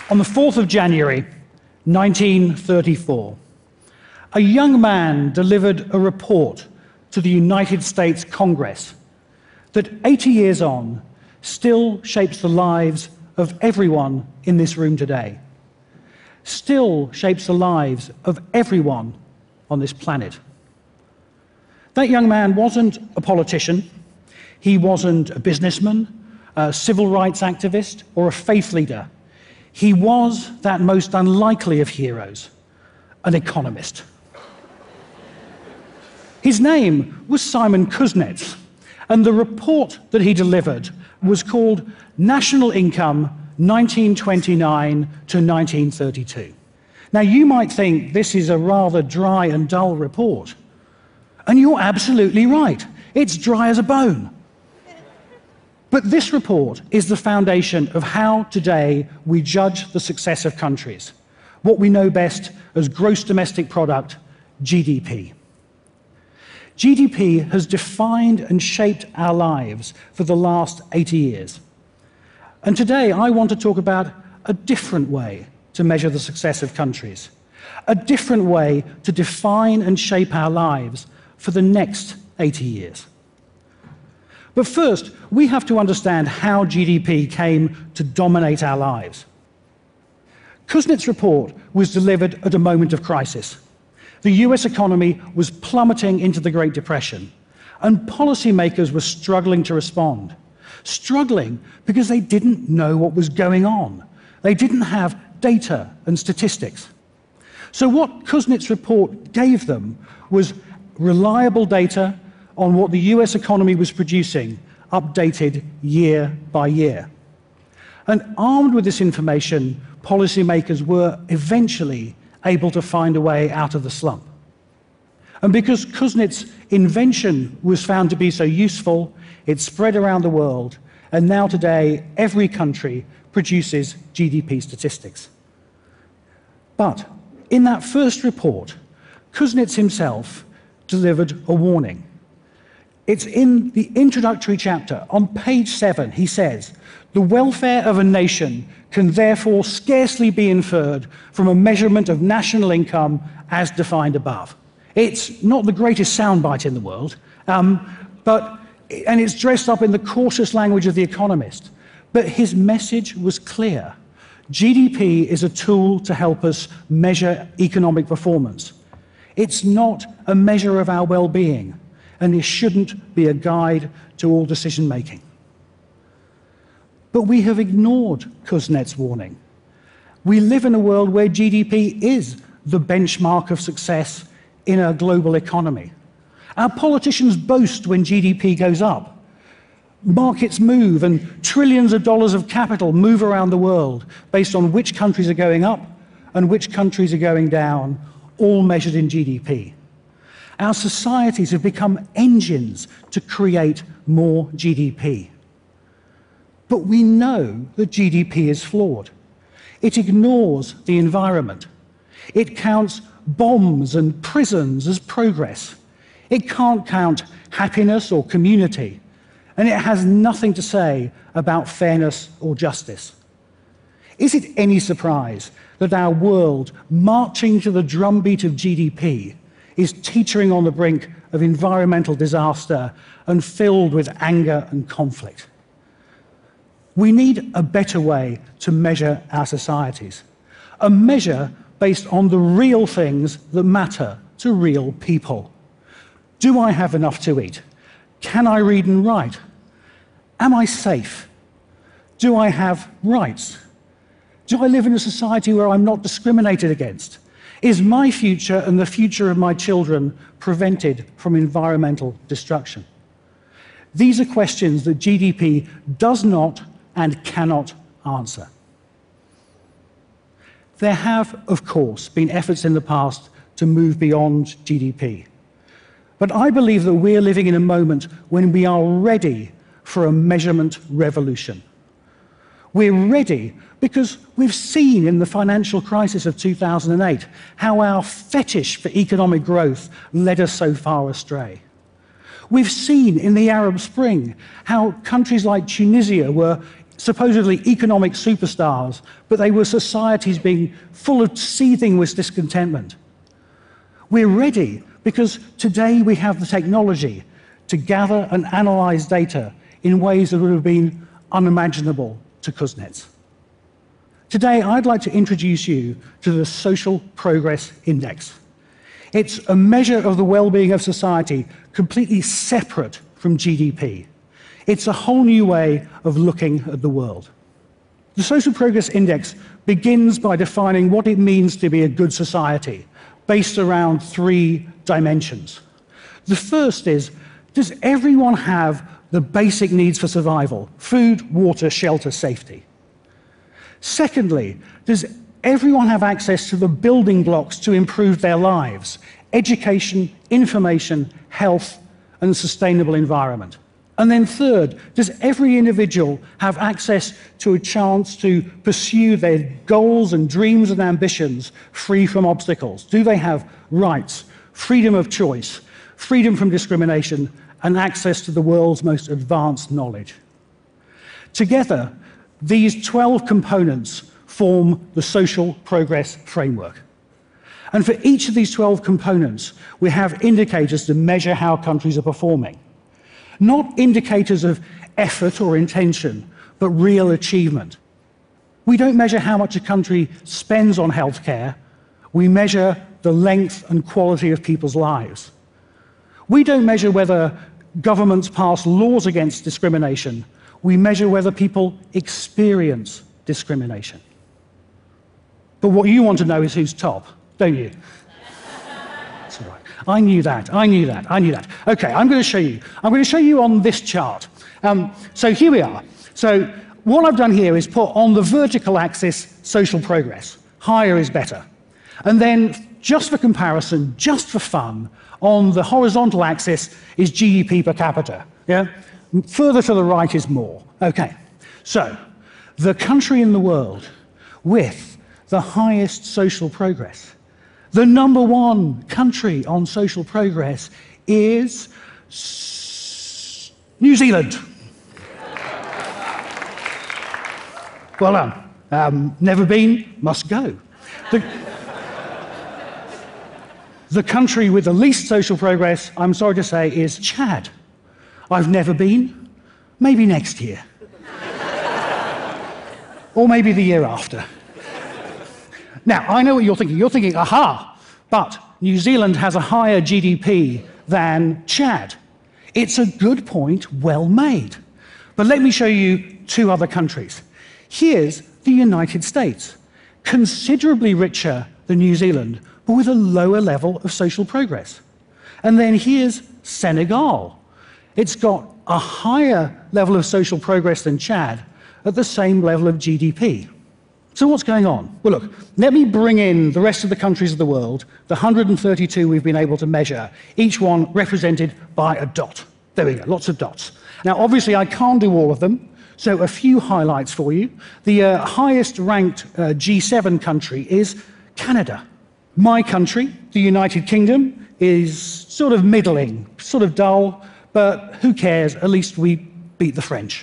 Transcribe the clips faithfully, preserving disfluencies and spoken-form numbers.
On the fourth of January, nineteen thirty-four, a young man delivered a report to the United States Congress that eighty years on still shapes the lives of everyone in this room today, still shapes the lives of everyone on this planet. That young man wasn't a politician, he wasn't a businessman, a civil rights activist, or a faith leader. He was that most unlikely of heroes, an economist. His name was Simon Kuznets, and the report that he delivered was called National Income nineteen twenty-nine to nineteen thirty-two. Now, you might think this is a rather dry and dull report, and you're absolutely right. It's dry as a bone. But this report is the foundation of how today we judge the success of countries, what we know best as gross domestic product, G D P. G D P has defined and shaped our lives for the last eighty years. And today I want to talk about a different way to measure the success of countries, a different way to define and shape our lives for the next eighty years. But first, we have to understand how G D P came to dominate our lives. Kuznets' report was delivered at a moment of crisis. The U S economy was plummeting into the Great Depression, and policymakers were struggling to respond. Struggling because they didn't know what was going on. They didn't have data and statistics. So what Kuznets' report gave them was reliable data on what the U S economy was producing, updated year by year. And armed with this information, policymakers were eventually able to find a way out of the slump. And because Kuznets' invention was found to be so useful, it spread around the world, and now today every country produces G D P statistics. But in that first report, Kuznets himself delivered a warning. It's in the introductory chapter. On page seven, he says, "The welfare of a nation can therefore scarcely be inferred from a measurement of national income as defined above." It's not the greatest soundbite in the world, um, but, and it's dressed up in the cautious language of The Economist. But his message was clear. G D P is a tool to help us measure economic performance. It's not a measure of our well-being, and it shouldn't be a guide to all decision-making. But we have ignored Kuznets' warning. We live in a world where G D P is the benchmark of success in a global economy. Our politicians boast when G D P goes up. Markets move, and trillions of dollars of capital move around the world based on which countries are going up and which countries are going down, all measured in G D P. Our societies have become engines to create more G D P. But we know that G D P is flawed. It ignores the environment. It counts bombs and prisons as progress. It can't count happiness or community. And it has nothing to say about fairness or justice. Is it any surprise that our world, marching to the drumbeat of G D P, is teetering on the brink of environmental disaster and filled with anger and conflict? We need a better way to measure our societies, a measure based on the real things that matter to real people. Do I have enough to eat? Can I read and write? Am I safe? Do I have rights? Do I live in a society where I'm not discriminated against? Is my future and the future of my children prevented from environmental destruction? These are questions that G D P does not and cannot answer. There have, of course, been efforts in the past to move beyond G D P. But I believe that we're living in a moment when we are ready for a measurement revolution. We're ready because we've seen in the financial crisis of two thousand eight how our fetish for economic growth led us so far astray. We've seen in the Arab Spring how countries like Tunisia were supposedly economic superstars, but they were societies being full of seething with discontentment. We're ready because today we have the technology to gather and analyze data in ways that would have been unimaginable to Kuznets. Today, I'd like to introduce you to the Social Progress Index. It's a measure of the well-being of society completely separate from G D P. It's a whole new way of looking at the world. The Social Progress Index begins by defining what it means to be a good society, based around three dimensions. The first is, does everyone have the basic needs for survival? Food, water, shelter, safety. Secondly, does everyone have access to the building blocks to improve their lives? Education, information, health, and sustainable environment. And then third, does every individual have access to a chance to pursue their goals and dreams and ambitions free from obstacles? Do they have rights, freedom of choice, freedom from discrimination, and access to the world's most advanced knowledge? Together, these twelve components form the Social Progress Framework. And for each of these twelve components, we have indicators to measure how countries are performing. Not indicators of effort or intention, but real achievement. We don't measure how much a country spends on healthcare. We measure the length and quality of people's lives. We don't measure whether governments pass laws against discrimination. We measure whether people experience discrimination. But what you want to know is who's top, don't you? That's all right. I knew that, I knew that, I knew that. Okay, I'm going to show you. I'm going to show you on this chart. Um, so here we are. So what I've done here is put on the vertical axis social progress. Higher is better. And then, just for comparison, just for fun, on the horizontal axis is G D P per capita. Yeah? Further to the right is more. Okay, so the country in the world with the highest social progress, the number one country on social progress is New Zealand. Well done. Um, never been, must go. The, the country with the least social progress, I'm sorry to say, is Chad. I've never been, maybe next year. Or maybe the year after. Now, I know what you're thinking. You're thinking, aha, but New Zealand has a higher G D P than Chad. It's a good point, well made. But let me show you two other countries. Here's the United States, considerably richer than New Zealand, but with a lower level of social progress. And then here's Senegal. It's got a higher level of social progress than Chad at the same level of G D P. So what's going on? Well, look, let me bring in the rest of the countries of the world, the one hundred thirty-two we've been able to measure, each one represented by a dot. There we go, lots of dots. Now, obviously, I can't do all of them, so a few highlights for you. The uh, highest ranked uh, G seven country is Canada. My country, the United Kingdom, is sort of middling, sort of dull, but who cares? At least we beat the French.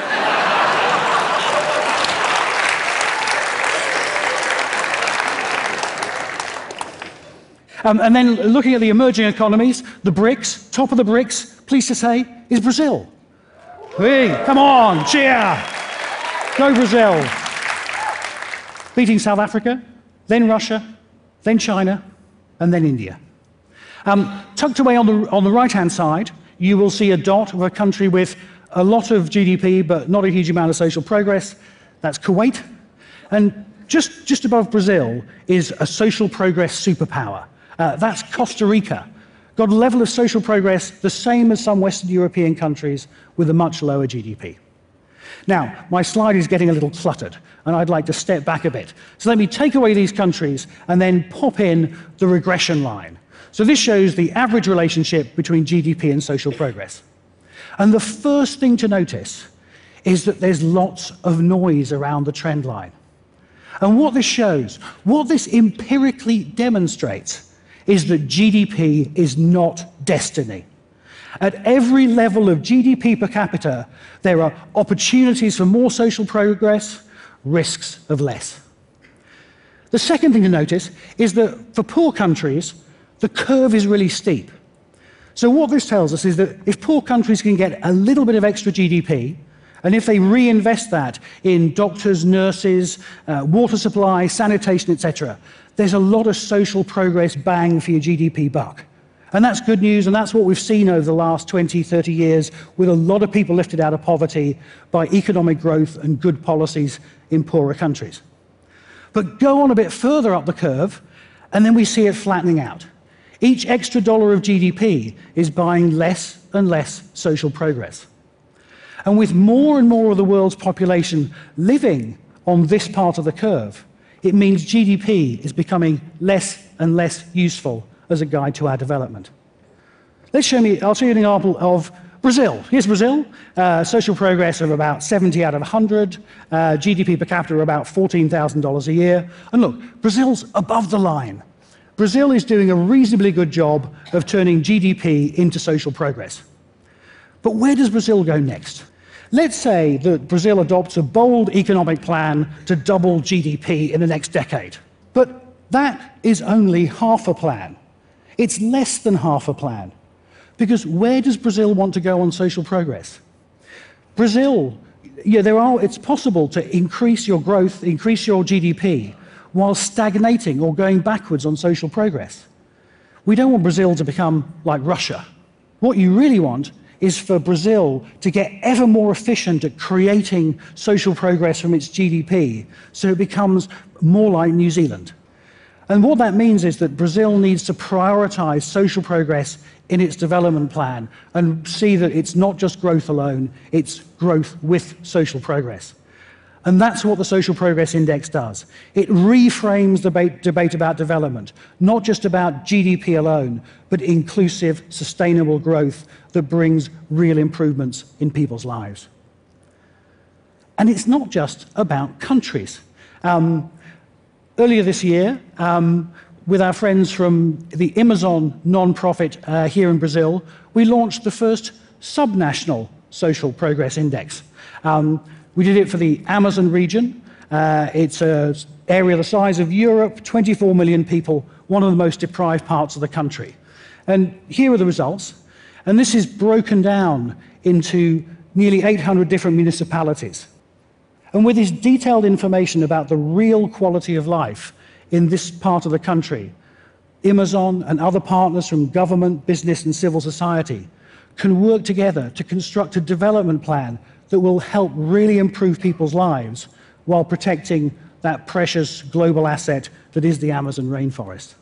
Um, and then looking at the emerging economies, the BRICS, top of the BRICS, pleased to say, is Brazil. Hey, come on, cheer! Go Brazil. Beating South Africa, then Russia, then China, and then India. Um, tucked away on the, on the right-hand side, you will see a dot of a country with a lot of G D P, but not a huge amount of social progress. That's Kuwait. And just, just above Brazil is a social progress superpower. Uh, that's Costa Rica. Got a level of social progress the same as some Western European countries with a much lower G D P. Now, my slide is getting a little cluttered, and I'd like to step back a bit. So let me take away these countries and then pop in the regression line. So this shows the average relationship between G D P and social progress. And the first thing to notice is that there's lots of noise around the trend line. And what this shows, what this empirically demonstrates, is that G D P is not destiny. At every level of G D P per capita, there are opportunities for more social progress, risks of less. The second thing to notice is that for poor countries, the curve is really steep. So what this tells us is that if poor countries can get a little bit of extra G D P, and if they reinvest that in doctors, nurses, uh, water supply, sanitation, et cetera, there's a lot of social progress bang for your G D P buck. And that's good news, and that's what we've seen over the last twenty, thirty years, with a lot of people lifted out of poverty by economic growth and good policies in poorer countries. But go on a bit further up the curve, and then we see it flattening out. Each extra dollar of G D P is buying less and less social progress. And with more and more of the world's population living on this part of the curve, it means G D P is becoming less and less useful as a guide to our development. Let's show me, I'll show you an example of Brazil. Here's Brazil, uh, social progress of about seventy out of one hundred, uh, G D P per capita of about fourteen thousand dollars a year. And look, Brazil's above the line. Brazil is doing a reasonably good job of turning G D P into social progress. But where does Brazil go next? Let's say that Brazil adopts a bold economic plan to double G D P in the next decade. But that is only half a plan. It's less than half a plan. Because where does Brazil want to go on social progress? Brazil, yeah, there are, it's possible to increase your growth, increase your G D P, while stagnating or going backwards on social progress. We don't want Brazil to become like Russia. What you really want is for Brazil to get ever more efficient at creating social progress from its G D P, so it becomes more like New Zealand. And what that means is that Brazil needs to prioritize social progress in its development plan and see that it's not just growth alone, it's growth with social progress. And that's what the Social Progress Index does. It reframes the debate, debate about development, not just about G D P alone, but inclusive, sustainable growth that brings real improvements in people's lives. And it's not just about countries. Um, earlier this year, um, with our friends from the Amazon nonprofit uh, here in Brazil, we launched the first subnational Social Progress Index. Um, We did it for the Amazon region. Uh, it's an area the size of Europe, twenty-four million people, one of the most deprived parts of the country. And here are the results. And this is broken down into nearly eight hundred different municipalities. And with this detailed information about the real quality of life in this part of the country, Amazon and other partners from government, business, and civil society can work together to construct a development plan that will help really improve people's lives while protecting that precious global asset that is the Amazon rainforest.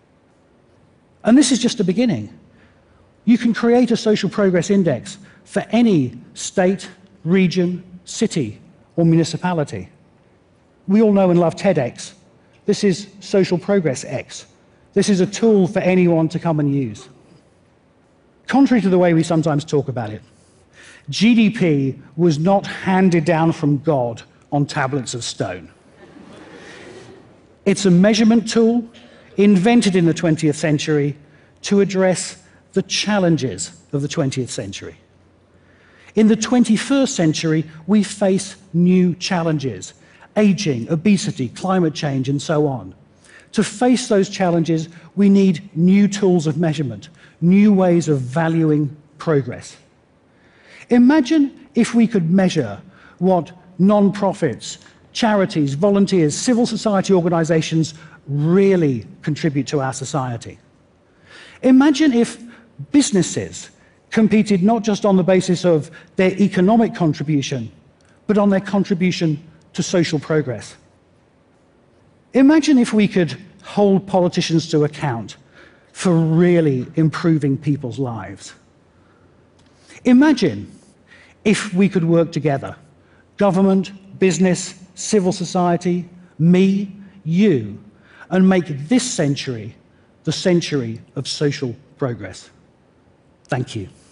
And this is just the beginning. You can create a social progress index for any state, region, city, or municipality. We all know and love TEDx. This is Social Progress X. This is a tool for anyone to come and use. Contrary to the way we sometimes talk about it, G D P was not handed down from God on tablets of stone. It's a measurement tool invented in the twentieth century to address the challenges of the twentieth century. In the twenty-first century, we face new challenges: aging, obesity, climate change, and so on. To face those challenges, we need new tools of measurement, new ways of valuing progress. Imagine if we could measure what non-profits, charities, volunteers, civil society organizations really contribute to our society. Imagine if businesses competed not just on the basis of their economic contribution, but on their contribution to social progress. Imagine if we could hold politicians to account for really improving people's lives. Imagine if we could work together, government, business, civil society, me, you, and make this century the century of social progress. Thank you.